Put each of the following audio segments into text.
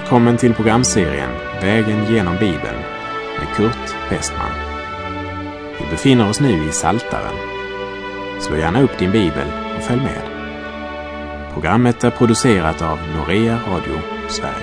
Välkommen till programserien Vägen genom Bibeln med Kurt Westman. Vi befinner oss nu i Psaltaren. Slå gärna upp din bibel och följ med. Programmet är producerat av Norea Radio Sverige.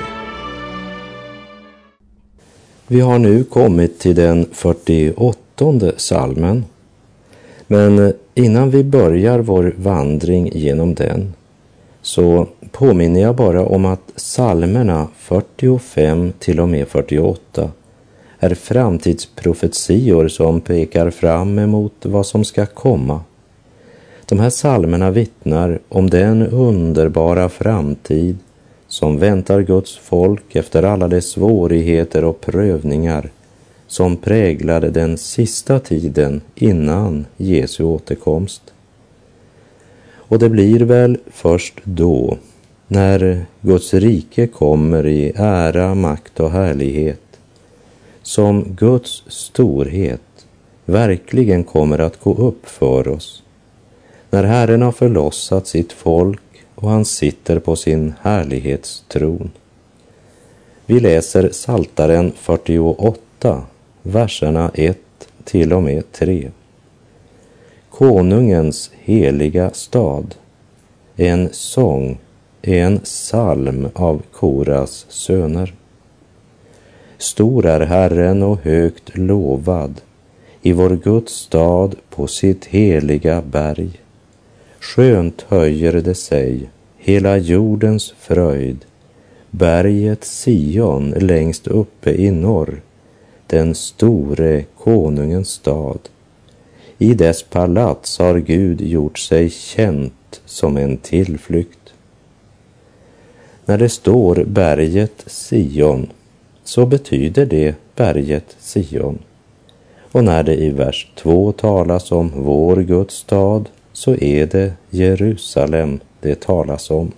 Vi har nu kommit till den 48:e psalmen. Men innan vi börjar vår vandring genom den så påminner jag bara om att psalmerna 45 till och med 48 är framtidsprofetior som pekar fram emot vad som ska komma. De här psalmerna vittnar om den underbara framtid som väntar Guds folk efter alla de svårigheter och prövningar som präglade den sista tiden innan Jesu återkomst. Och det blir väl först då, när Guds rike kommer i ära, makt och härlighet, som Guds storhet verkligen kommer att gå upp för oss. När Herren har förlossat sitt folk och han sitter på sin härlighetstron. Vi läser Psaltaren 48, verserna 1 till och med 3. Konungens heliga stad, en sång, en psalm av Koras söner. Stor är Herren och högt lovad i vår Guds stad på sitt heliga berg. Skönt höjer det sig, hela jordens fröjd, berget Sion längst uppe i norr, den store konungens stad. I dess palats har Gud gjort sig känt som en tillflykt. När det står berget Sion så betyder det berget Sion. Och när det i vers 2 talas om vår Guds stad så är det Jerusalem det talas om.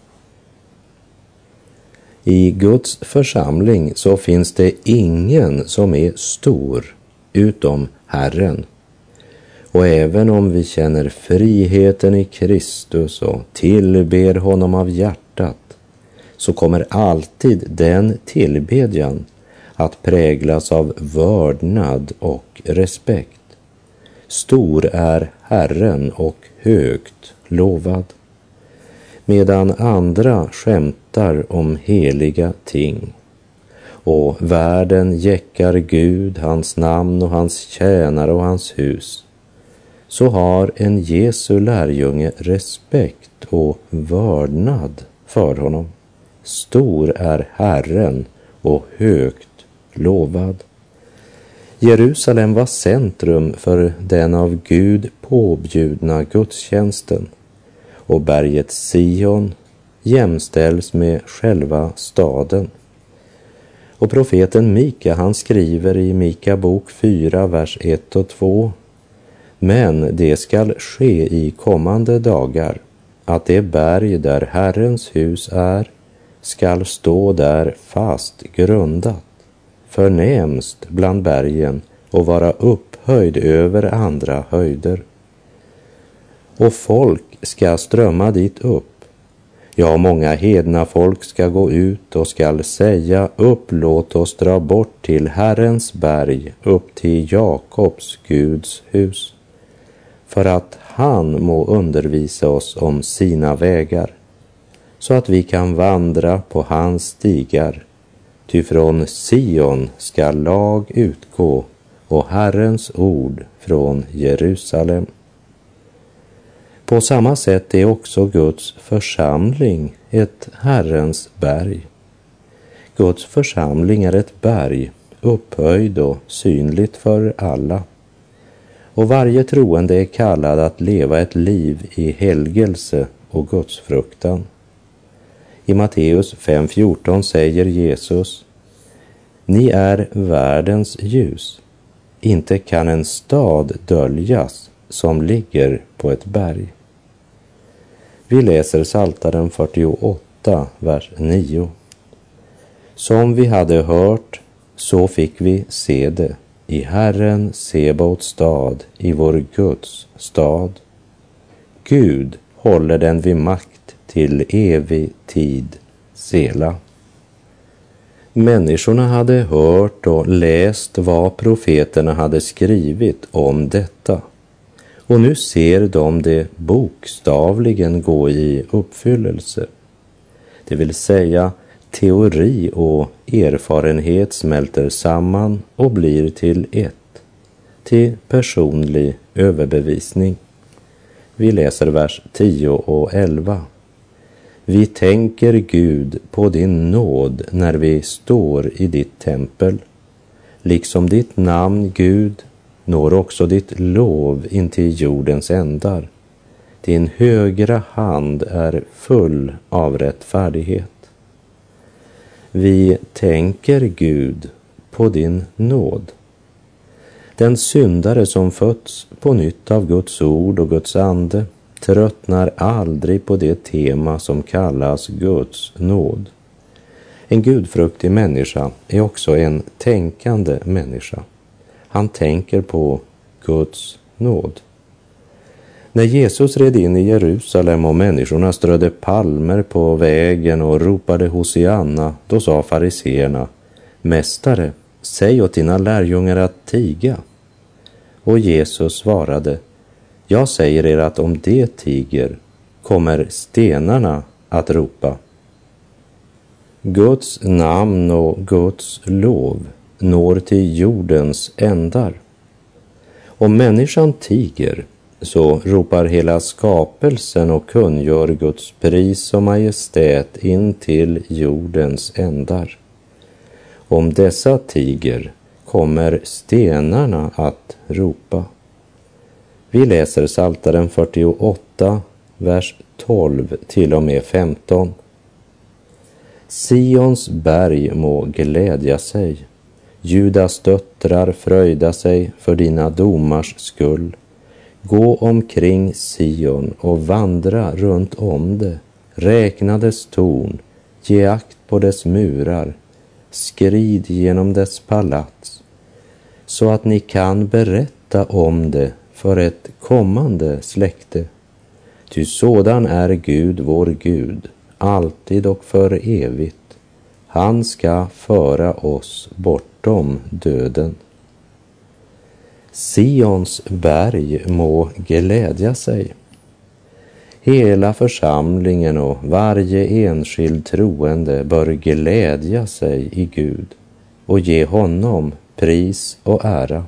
I Guds församling så finns det ingen som är stor utom Herren. Och även om vi känner friheten i Kristus och tillber honom av hjärtat så kommer alltid den tillbedjan att präglas av vördnad och respekt. Stor är Herren och högt lovad. Medan andra skämtar om heliga ting och världen jäckar Gud, hans namn och hans tjänare och hans hus, så har en Jesu lärjunge respekt och vördnad för honom. Stor är Herren och högt lovad. Jerusalem var centrum för den av Gud påbjudna gudstjänsten och berget Sion jämställs med själva staden. Och profeten Mika, han skriver i Mika bok 4, vers 1 och 2: Men det skall ske i kommande dagar att det berg där Herrens hus är skall stå där fast grundat, förnämst bland bergen och vara upphöjd över andra höjder. Och folk ska strömma dit upp. Ja, många hedna folk ska gå ut och skall säga: låt oss dra bort till Herrens berg, upp till Jakobs Guds hus, för att han må undervisa oss om sina vägar, så att vi kan vandra på hans stigar. Ty från Sion ska lag utgå och Herrens ord från Jerusalem. På samma sätt är också Guds församling ett Herrens berg. Guds församling är ett berg, upphöjd och synligt för alla. Och varje troende är kallad att leva ett liv i helgelse och gudsfruktan. I Matteus 5:14 säger Jesus: Ni är världens ljus. Inte kan en stad döljas som ligger på ett berg. Vi läser Psaltaren 48, vers 9. Som vi hade hört, så fick vi se det i Herren Sebaots stad, i vår Guds stad. Gud håller den vid makt till evig tid. Sela. Människorna hade hört och läst vad profeterna hade skrivit om detta. Och nu ser de det bokstavligen gå i uppfyllelse. Det vill säga, teori och erfarenhet smälter samman och blir till ett, till personlig överbevisning. Vi läser vers 10 och 11. Vi tänker Gud på din nåd när vi står i ditt tempel. Liksom ditt namn, Gud, når också ditt lov in till jordens ändar. Din högra hand är full av rättfärdighet. Vi tänker Gud på din nåd. Den syndare som fötts på nytt av Guds ord och Guds ande tröttnar aldrig på det tema som kallas Guds nåd. En gudfruktig människa är också en tänkande människa. Han tänker på Guds nåd. När Jesus red in i Jerusalem och människorna strödde palmer på vägen och ropade Hosianna, då sa fariseerna: Mästare, säg åt dina lärjungar att tiga. Och Jesus svarade: Jag säger er att om det tiger kommer stenarna att ropa. Guds namn och Guds lov når till jordens ändar. Om människan tiger så ropar hela skapelsen och kungör Guds pris och majestät in till jordens ändar. Om dessa tiger kommer stenarna att ropa. Vi läser Psaltaren 48, vers 12 till och med 15. Sions berg må glädja sig, Judas döttrar fröjda sig för dina domars skull. Gå omkring Sion och vandra runt om det, räkna dess torn, ge akt på dess murar, skrid genom dess palats, så att ni kan berätta om det för ett kommande släkte. Ty sådan är Gud, vår Gud, alltid och för evigt. Han ska föra oss bortom döden. Sions berg må glädja sig. Hela församlingen och varje enskild troende bör glädja sig i Gud och ge honom pris och ära.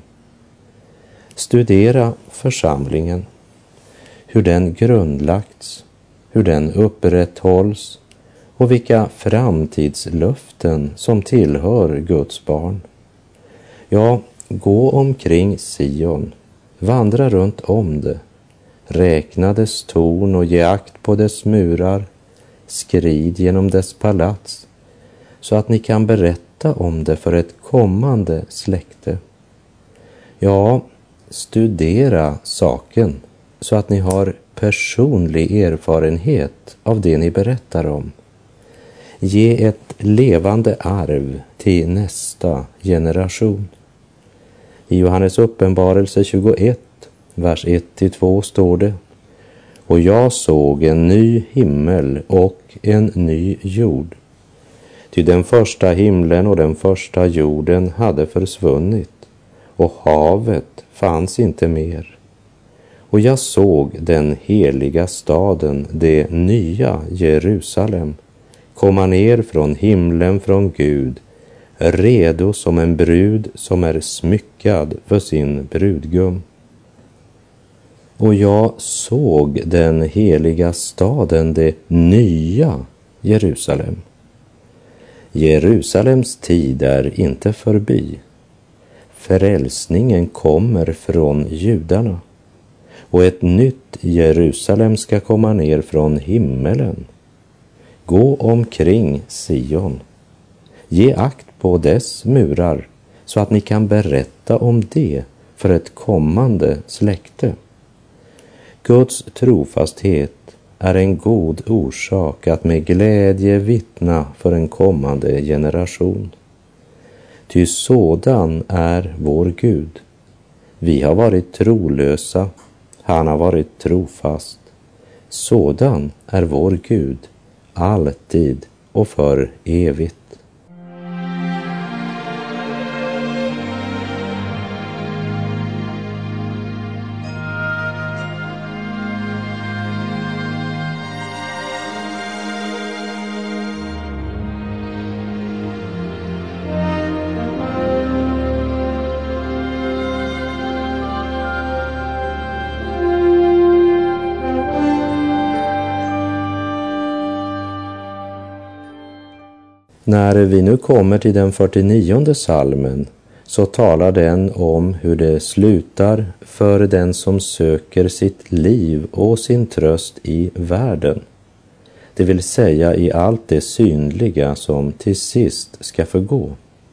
Studera församlingen, hur den grundlagts, hur den upprätthålls och vilka framtidslöften som tillhör Guds barn. Ja, gå omkring Sion, vandra runt om det, räkna dess torn och ge akt på dess murar, skrid genom dess palats, så att ni kan berätta om det för ett kommande släkte. Ja, studera saken så att ni har personlig erfarenhet av det ni berättar om. Ge ett levande arv till nästa generation. I Johannes uppenbarelse 21, vers 1-2 står det: Och jag såg en ny himmel och en ny jord. Ty den första himlen och den första jorden hade försvunnit, och havet fanns inte mer. Och jag såg den heliga staden, det nya Jerusalem, komma ner från himlen från Gud, redo som en brud som är smyckad för sin brudgum. Och jag såg den heliga staden, det nya Jerusalem. Jerusalems tid är inte förbi. Frälsningen kommer från judarna, och ett nytt Jerusalem ska komma ner från himmelen. Gå omkring Sion. Ge akt på dess murar så att ni kan berätta om det för ett kommande släkte. Guds trofasthet är en god orsak att med glädje vittna för en kommande generation. Ty sådan är vår Gud. Vi har varit trolösa, han har varit trofast. Sådan är vår Gud, alltid och för evigt. När vi nu kommer till den 49:e salmen så talar den om hur det slutar för den som söker sitt liv och sin tröst i världen. Det vill säga i allt det synliga som till sist ska förgå.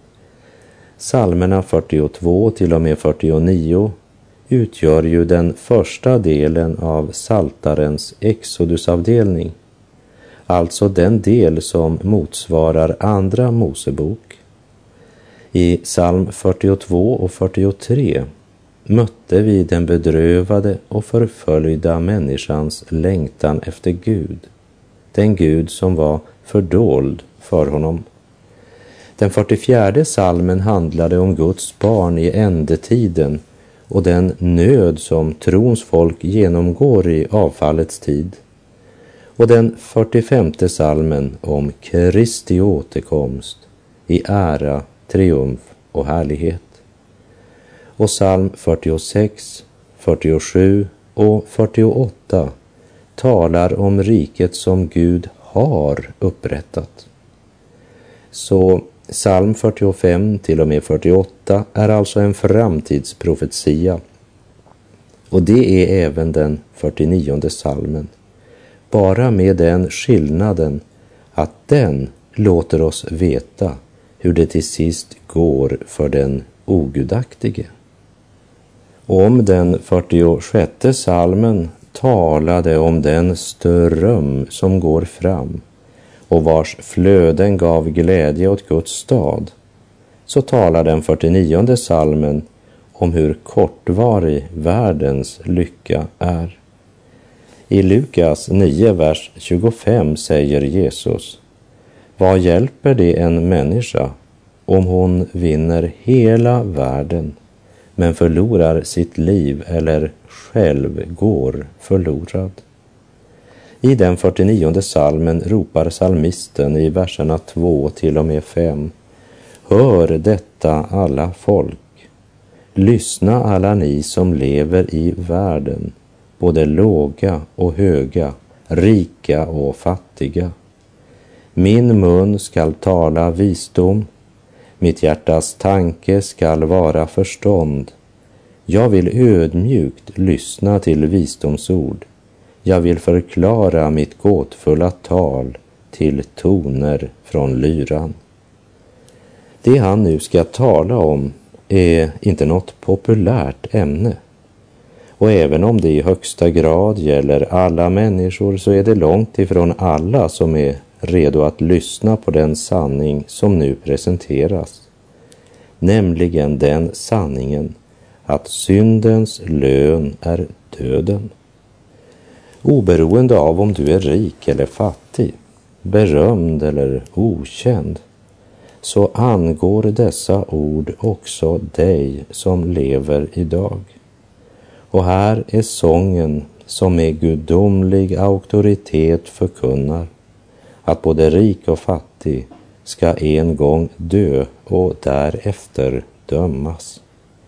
Psalmerna 42 till och med 49 utgör ju den första delen av Psaltarens Exodusavdelning, alltså den del som motsvarar andra Mosebok. I psalm 42 och 43 mötte vi den bedrövade och förföljda människans längtan efter Gud, den Gud som var fördold för honom. Den 44:e psalmen handlade om Guds barn i ändetiden och den nöd som trons folk genomgår i avfallets tid. Och den 45:e psalmen om Kristi återkomst i ära, triumf och härlighet. Och psalm 46, 47 och 48 talar om riket som Gud har upprättat. Så psalm 45 till och med 48 är alltså en framtidsprofetia. Och det är även den 49:e psalmen. Bara med den skillnaden att den låter oss veta hur det till sist går för den ogudaktige. Om den 46:e psalmen talade om den ström som går fram och vars flöden gav glädje åt Guds stad, så talar den 49:e psalmen om hur kortvarig världens lycka är. I Lukas 9, vers 25 säger Jesus: vad hjälper det en människa om hon vinner hela världen men förlorar sitt liv eller själv går förlorad? I den 49:e psalmen ropar psalmisten i verserna 2 till och med 5: hör detta alla folk, lyssna alla ni som lever i världen, både låga och höga, rika och fattiga. Min mun skall tala visdom, mitt hjärtas tanke skall vara förstånd. Jag vill ödmjukt lyssna till visdomsord. Jag vill förklara mitt gåtfulla tal till toner från lyran. Det han nu ska tala om är inte något populärt ämne. Och även om det i högsta grad gäller alla människor, så är det långt ifrån alla som är redo att lyssna på den sanning som nu presenteras. Nämligen den sanningen att syndens lön är döden. Oberoende av om du är rik eller fattig, berömd eller okänd, så angår dessa ord också dig som lever idag. Och här är sången som med gudomlig auktoritet förkunnar att både rik och fattig ska en gång dö och därefter dömas.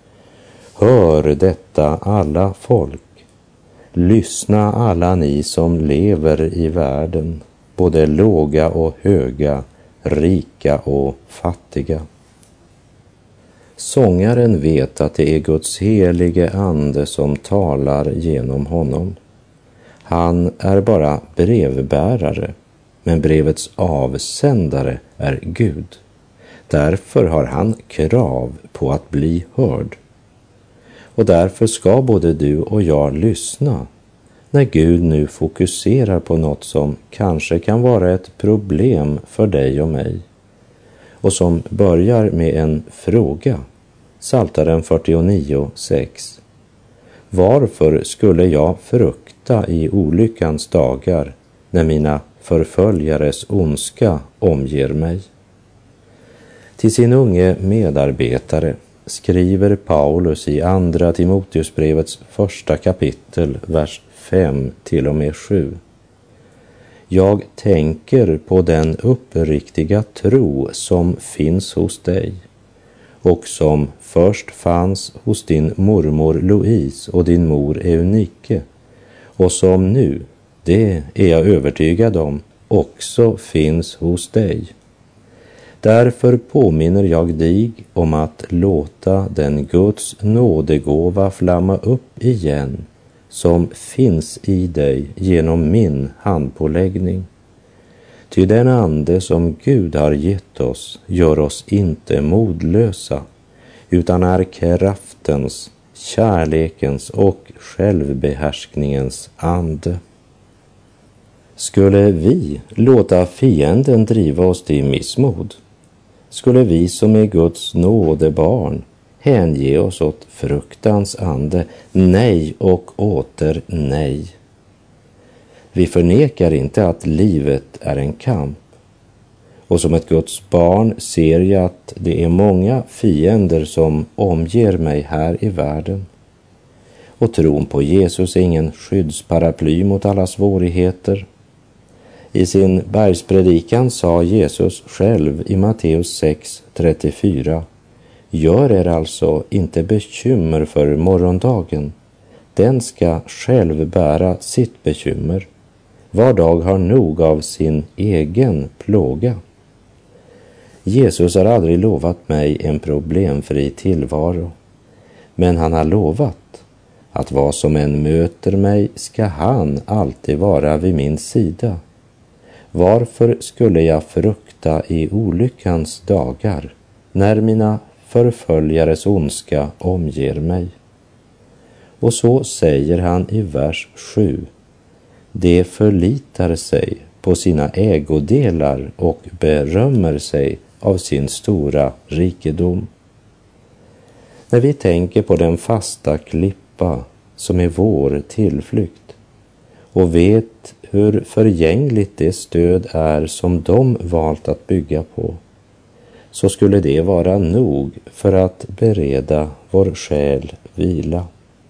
Hör detta alla folk, lyssna alla ni som lever i världen, både låga och höga, rika och fattiga. Sångaren vet att det är Guds helige ande som talar genom honom. Han är bara brevbärare, men brevets avsändare är Gud. Därför har han krav på att bli hörd. Och därför ska både du och jag lyssna när Gud nu fokuserar på något som kanske kan vara ett problem för dig och mig, och som börjar med en fråga. Psaltaren 49:6. Varför skulle jag frukta i olyckans dagar när mina förföljares ondska omger mig? Till sin unge medarbetare skriver Paulus i andra Timoteusbrevets 1 kapitel, vers 5 till och med 7. Jag tänker på den uppriktiga tro som finns hos dig och som först fanns hos din mormor Louise och din mor Eunike, och som nu, det är jag övertygad om, också finns hos dig. Därför påminner jag dig om att låta den Guds nådegåva flamma upp igen som finns i dig genom min handpåläggning. Ty den ande som Gud har gett oss gör oss inte modlösa, utan är kraftens, kärlekens och självbehärskningens ande. Skulle vi låta fienden driva oss till missmod? Skulle vi som är Guds nådebarn hänge oss åt fruktans ande? Nej och åter nej. Vi förnekar inte att livet är en kamp. Och som ett Guds barn ser jag att det är många fiender som omger mig här i världen. Och tron på Jesus är ingen skyddsparaply mot alla svårigheter. I sin bergspredikan sa Jesus själv i Matteus 6:34: Gör er alltså inte bekymmer för morgondagen. Den ska själv bära sitt bekymmer. Var dag har nog av sin egen plåga. Jesus har aldrig lovat mig en problemfri tillvaro. Men han har lovat att vad som än möter mig ska han alltid vara vid min sida. Varför skulle jag frukta i olyckans dagar när mina förföljares ondska omger mig? Och så säger han i vers 7: De förlitar sig på sina ägodelar och berömmer sig av sin stora rikedom. När vi tänker på den fasta klippa som är vår tillflykt och vet hur förgängligt det stöd är som de valt att bygga på, så skulle det vara nog för att bereda vår själ vila.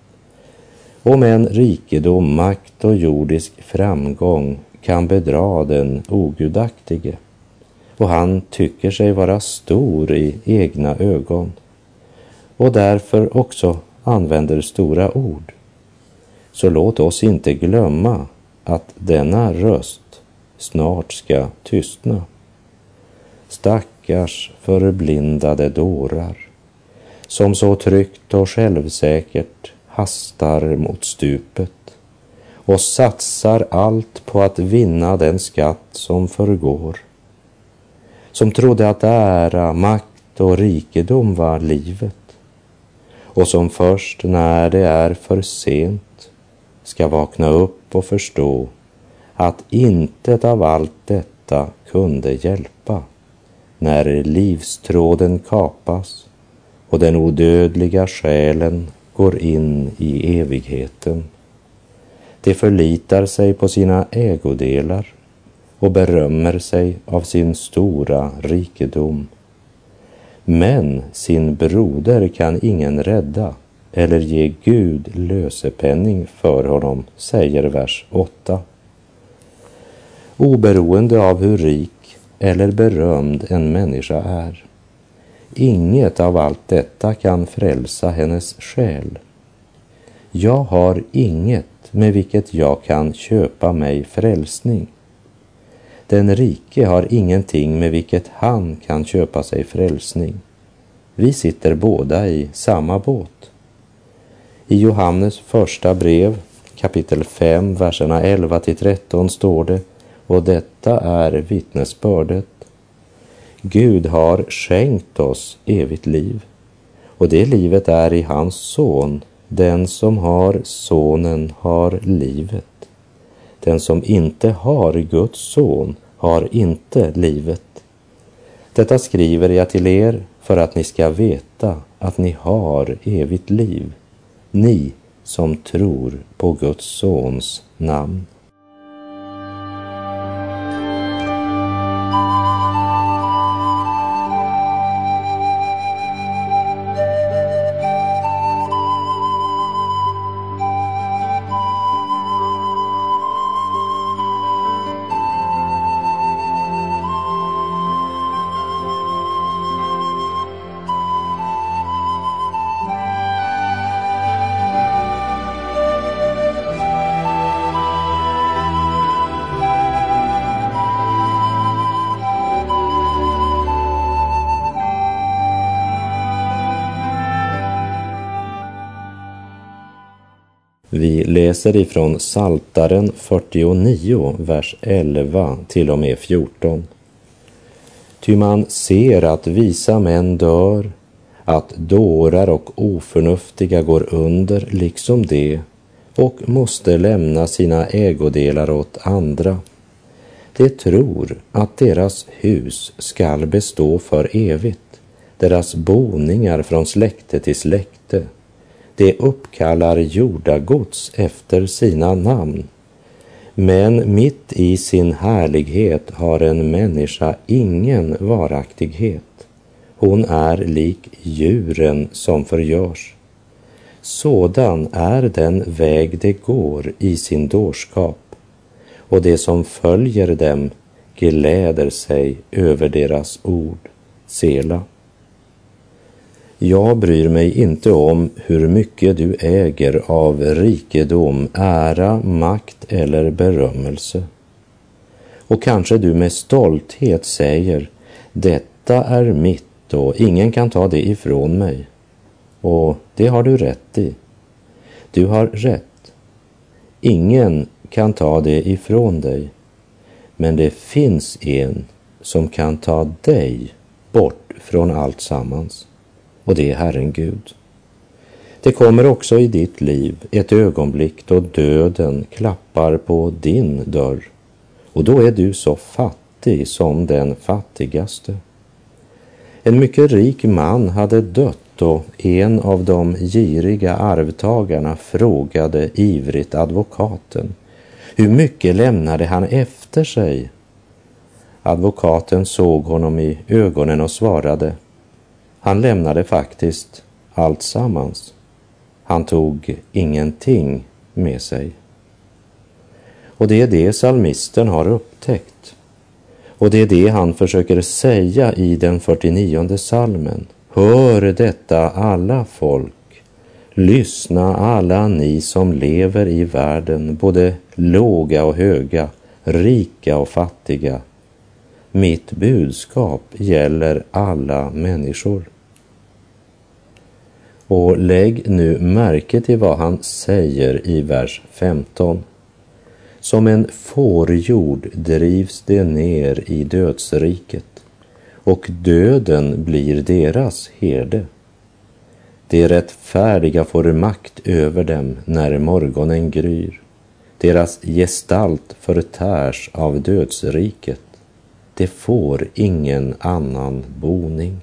Om en rikedom, makt och jordisk framgång kan bedra den ogudaktige, och han tycker sig vara stor i egna ögon och därför också använder stora ord, så låt oss inte glömma att denna röst snart ska tystna. Stackars förblindade dårar, som så tryggt och självsäkert hastar mot stupet och satsar allt på att vinna den skatt som förgår. Som trodde att ära, makt och rikedom var livet, och som först när det är för sent ska vakna upp och förstå att intet av allt detta kunde hjälpa när livstråden kapas och den odödliga själen går in i evigheten. De förlitar sig på sina ägodelar och berömmer sig av sin stora rikedom. Men sin broder kan ingen rädda eller ge Gud lösepenning för honom, säger vers 8. Oberoende av hur rik eller berömd en människa är, inget av allt detta kan frälsa hennes själ. Jag har inget med vilket jag kan köpa mig frälsning. Den rike har ingenting med vilket han kan köpa sig frälsning. Vi sitter båda i samma båt. I Johannes första brev, kapitel 5, verserna 11-13 står det, och detta är vittnesbördet: Gud har skänkt oss evigt liv, och det livet är i hans son. Den som har sonen har livet. Den som inte har Guds son har inte livet. Detta skriver jag till er för att ni ska veta att ni har evigt liv, ni som tror på Guds sons namn. Vi läser ifrån Psaltaren 49, vers 11 till och med 14. Ty man ser att visa män dör, att dårar och oförnuftiga går under liksom det, och måste lämna sina ägodelar åt andra. De tror att deras hus skall bestå för evigt, deras boningar från släkte till släkte. De uppkallar jordagods efter sina namn. Men mitt i sin härlighet har en människa ingen varaktighet. Hon är lik djuren som förgörs. Sådan är den väg de går i sin dårskap, och det som följer dem gläder sig över deras ord. Sela. Jag bryr mig inte om hur mycket du äger av rikedom, ära, makt eller berömmelse. Och kanske du med stolthet säger, detta är mitt och ingen kan ta det ifrån mig. Och det har du rätt i. Du har rätt. Ingen kan ta det ifrån dig. Men det finns en som kan ta dig bort från allt sammans. Och det är Herren Gud. Det kommer också i ditt liv ett ögonblick då döden klappar på din dörr. Och då är du så fattig som den fattigaste. En mycket rik man hade dött och en av de giriga arvtagarna frågade ivrigt advokaten. Hur mycket lämnade han efter sig? Advokaten såg honom i ögonen och svarade. Han lämnade faktiskt allt sammans. Han tog ingenting med sig. Och det är det psalmisten har upptäckt. Och det är det han försöker säga i den 49:e psalmen. Hör detta alla folk. Lyssna alla ni som lever i världen, både låga och höga, rika och fattiga. Mitt budskap gäller alla människor. Och lägg nu märke till vad han säger i vers 15. Som en fårjord drivs det ner i dödsriket, och döden blir deras herde. De rättfärdiga får makt över dem när morgonen gryr. Deras gestalt förtärs av dödsriket. De får ingen annan boning.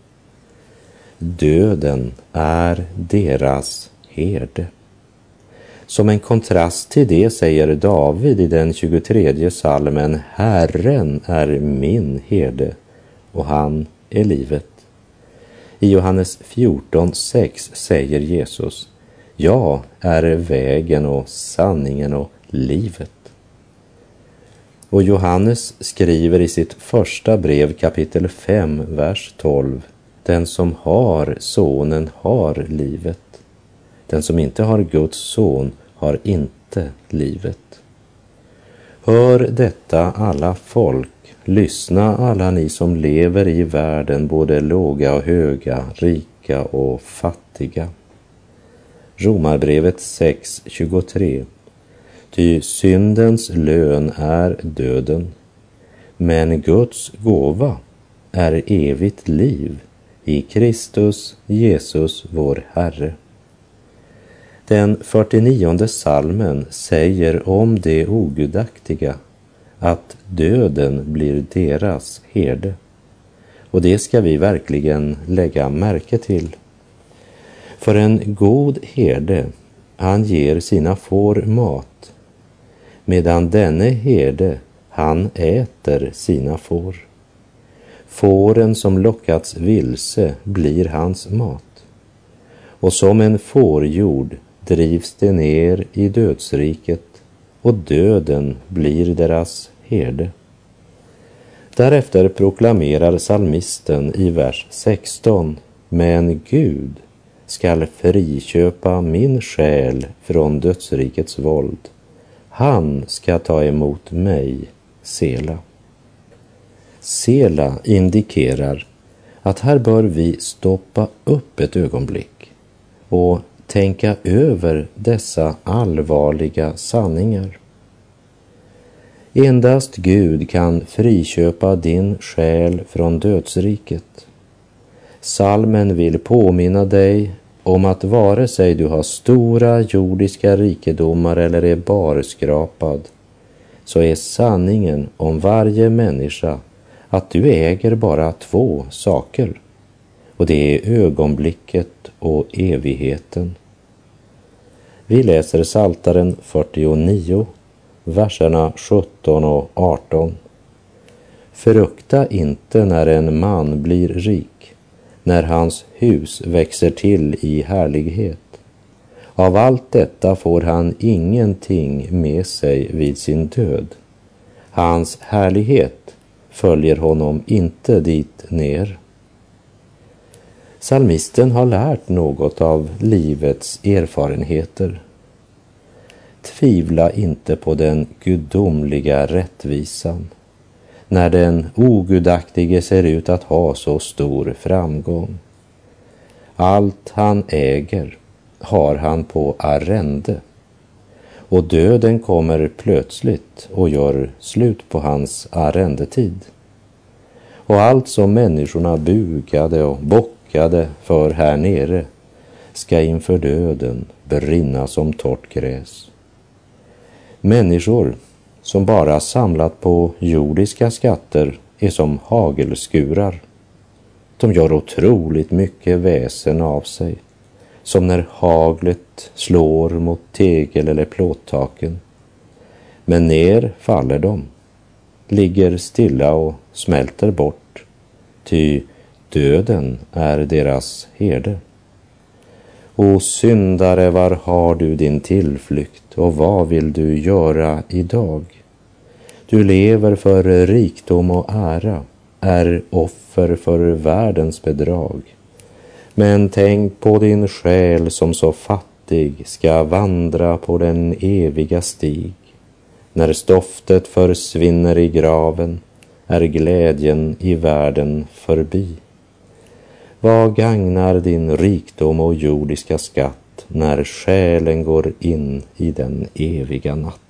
Döden är deras herde. Som en kontrast till det säger David i den 23:e psalmen, Herren är min herde och han är livet. I Johannes 14:6 säger Jesus, jag är vägen och sanningen och livet. Och Johannes skriver i sitt första brev kapitel 5, vers 12, den som har sonen har livet. Den som inte har Guds son har inte livet. Hör detta alla folk, lyssna alla ni som lever i världen, både låga och höga, rika och fattiga. Romarbrevet 6:23. Ty syndens lön är döden, men Guds gåva är evigt liv i Kristus Jesus vår Herre. Den 49:e psalmen säger om det ogudaktiga att döden blir deras herde. Och det ska vi verkligen lägga märke till. För en god herde, han ger sina får mat, medan denne herde, han äter sina får. Fåren som lockats vilse blir hans mat. Och som en fårjord drivs det ner i dödsriket, och döden blir deras herde. Därefter proklamerar psalmisten i vers 16, men Gud skall friköpa min själ från dödsrikets våld. Han ska ta emot mig, Sela. Sela indikerar att här bör vi stoppa upp ett ögonblick och tänka över dessa allvarliga sanningar. Endast Gud kan friköpa din själ från dödsriket. Salmen vill påminna dig om att vare sig du har stora jordiska rikedomar eller är barskrapad, så är sanningen om varje människa att du äger bara två saker, och det är ögonblicket och evigheten. Vi läser Psaltaren 49, verserna 17 och 18. Frukta inte när en man blir rik, när hans hus växer till i härlighet. Av allt detta får han ingenting med sig vid sin död. Hans härlighet följer honom inte dit ner. Psalmisten har lärt något av livets erfarenheter. Tvivla inte på den gudomliga rättvisan när den ogudaktige ser ut att ha så stor framgång. Allt han äger har han på arrende, och döden kommer plötsligt och gör slut på hans arrendetid. Och allt som människorna bugade och bockade för här nere ska inför döden brinna som torrt gräs. Människor som bara samlat på jordiska skatter är som hagelskurar. De gör otroligt mycket väsen av sig, som när haglet slår mot tegel eller plåttaken. Men ner faller de, ligger stilla och smälter bort, ty döden är deras herde. O syndare, var har du din tillflykt, och vad vill du göra idag? Du lever för rikdom och ära, är offer för världens bedrag. Men tänk på din själ som så fattig ska vandra på den eviga stig. När stoftet försvinner i graven är glädjen i världen förbi. Vad gagnar din rikdom och jordiska skatt när själen går in i den eviga natt?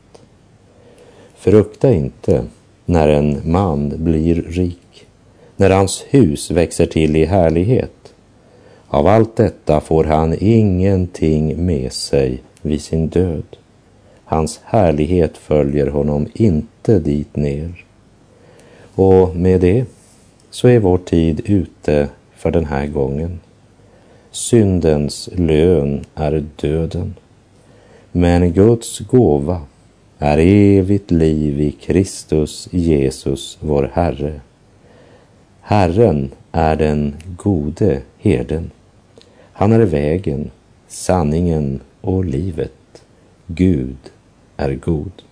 Frukta inte när en man blir rik, när hans hus växer till i härlighet. Av allt detta får han ingenting med sig vid sin död. Hans härlighet följer honom inte dit ner. Och med det så är vår tid ute för den här gången. Syndens lön är döden, men Guds gåva är evigt liv i Kristus Jesus vår Herre. Herren är den gode herden. Han är vägen, sanningen och livet. Gud är god.